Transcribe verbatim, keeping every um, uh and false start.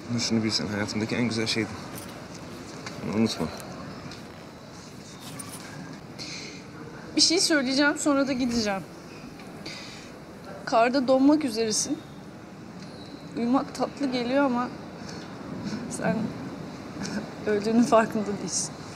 Ama şunu bilsen, hayatımdaki en güzel şeydi. Bunu unutma. Bir şey söyleyeceğim, sonra da gideceğim. Karda donmak üzeresin. Uyumak tatlı geliyor ama sen öldüğünün farkında değilsin.